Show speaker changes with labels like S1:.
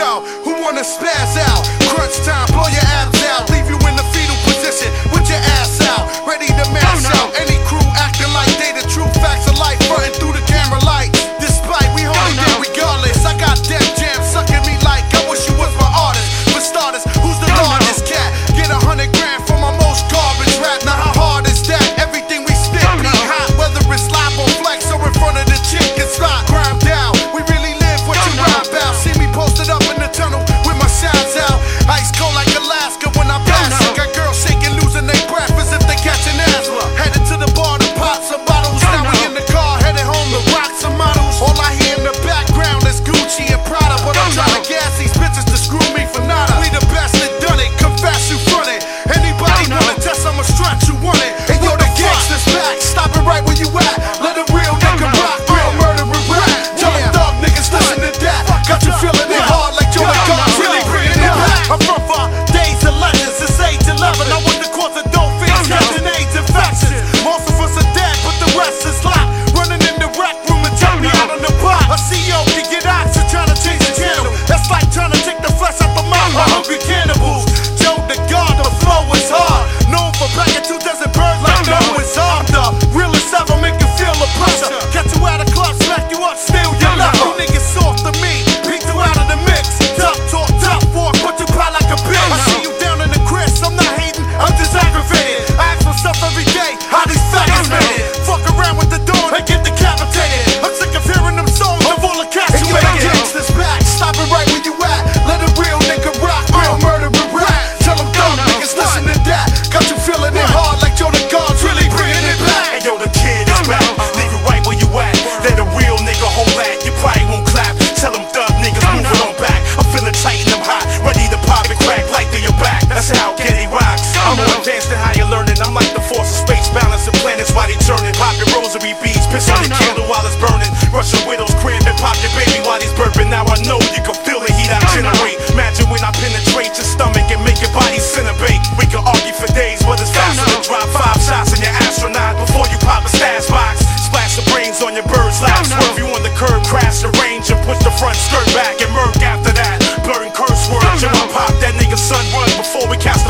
S1: Yo, who wanna spaz out? Crunch time, blow your abs out. Leave you in the fetal position with your ass out. Ready to mash out any crew acting like they the true facts of life, running through the camera lights. Despite we hold it down regardless. I got Def Jam sucking me like I wish you was my artist. For starters, who's the largest cat? Get 100 grand for my most garbage rap. Now how hard is that? Everything we spit be hot, whether it's live or flex or in front of the chick. It's not grind down. We really live what you rhyme about. See me posted up in the tunnel with my shines out. Ice cold like Alaska when I pass it. Got girls shaking, losing their breath as if they catching asthma. Headed to the bar to pop some bottles. Now we in the car headed home to rock some models. All I hear in the background is Gucci and Prada, but I'm trying to gas these bitches to screw me for nada. We the best that done it. Confess you front it. Anybody wanna test? I'ma stretch you want it. And yo, the gangsta's back. Stop it right where you at. Let a real nigga rock. Real murder and rap. Tell them thug niggas listen to that. Got you feeling it hard like Joe and God really bringing it back. I'm from far days of legends. It's age 11. I want the cause of dope fiends, catching AIDS infections. Most of us are dead, but the rest is locked. Running in the rec room and tell me out on the block. A CEO can get oxygen trying to change the channel. That's like trying to take the flesh out the mouth of hungry cannibals. Joe the God, the flow is hard. Known for packing 2 dozen birds like no it's hard. The realest ever make you feel the pressure. Get you out of club, smack you up, steal your leather. You niggas soft to me, beat you out of the mix. Top talk, top fork, put you pie like a bitch. I see you down in the Chris, I'm not hating, I'm just aggravated. I ask myself every day, how these faggots made it. Fuck around with the dawn and get decapitated. I'm sick of hearing them songs of all the cats you make it. Gangsters back, stop it right where you at. Let a real nigga rock, real murder and rap. Tell them dumb niggas listen to that. Got you feeling it hard like Joe the God's really bringing it back.
S2: And yo, the kid is back. Leave it right where you at. Let a real nigga hold that. You probably won't clap. Tell them thug niggas moving on back. I'm feeling tight and I'm hot. Ready to pop and crack like through your back. That's how Getty rocks. I'm more advanced than how you're learning. I'm like the force of space, balancing planets while they turning. Pop your rosary beads, piss on the candle while it's burning. Rush your widow's crib and pop your baby while he's burping. Now I know you can feel the heat I generate. Imagine when I penetrate your stomach and make your body disintegrate. We can argue for days, but it's faster to drop 5 shots in your astronaut before you pop a stash box. Splash the brains on your bird's lap. Swerve you on the curb, crash the range and push the front skirt back and murk after that. Blurring curse words, and I pop that nigga son run before we catch